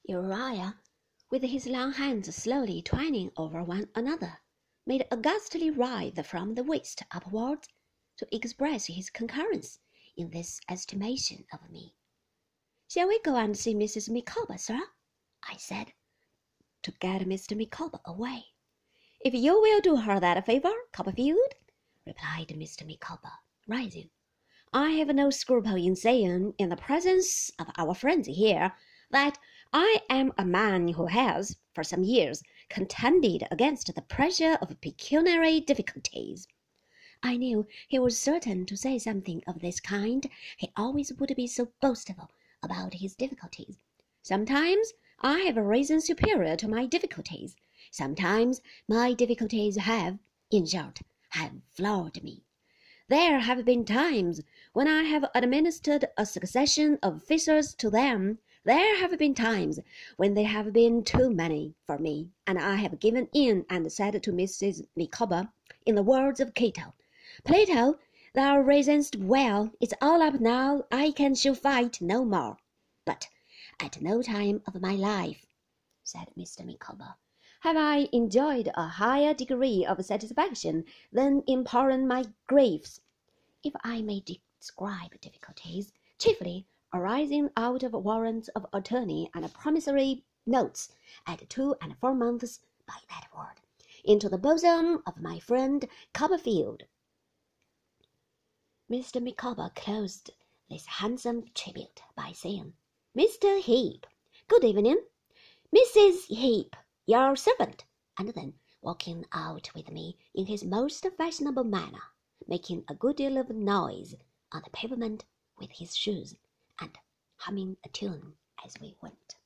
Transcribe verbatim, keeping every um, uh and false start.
Uriah, with his long hands slowly twining over one another, made a ghastly writhe from the waist upwards to express his concurrence in this estimation of me. "Shall we go and see Missus Micawber, sir?" I said, to get Mister Micawber away. "If you will do her that favour, Copperfield," replied Mister Micawber, rising. "I have no scruple in saying, in the presence of our friends here, that I am a man who has, for some years, contended against the pressure of pecuniary difficulties." I knew he was certain to say something of this kind. He always would be so boastful about his difficulties. "Sometimes I have risen superior to my difficulties. Sometimes my difficulties have, in short, have floored me. There have been times when I have administered a succession of fissures to them. There have been times when they have been too many for me, and I have given in and said to Missus Micawber, in the words of Cato, 'Plato, thou reasonest well. It's all up now. I can show fight no more.' But at no time of my life," said Mister Micawber, "have I enjoyed a higher degree of satisfaction than in pouring my griefs, if I may describe difficulties, chiefly arising out of warrants of attorney and promissory notes at two and four months by that word, into the bosom of my friend Copperfield." Mister Micawber closed this handsome tribute by saying, "Mister Heep, good evening. Missus Heep, your servant," and then walking out with me in his most fashionable manner, making a good deal of noise on the pavement with his shoes, and humming a tune as we went.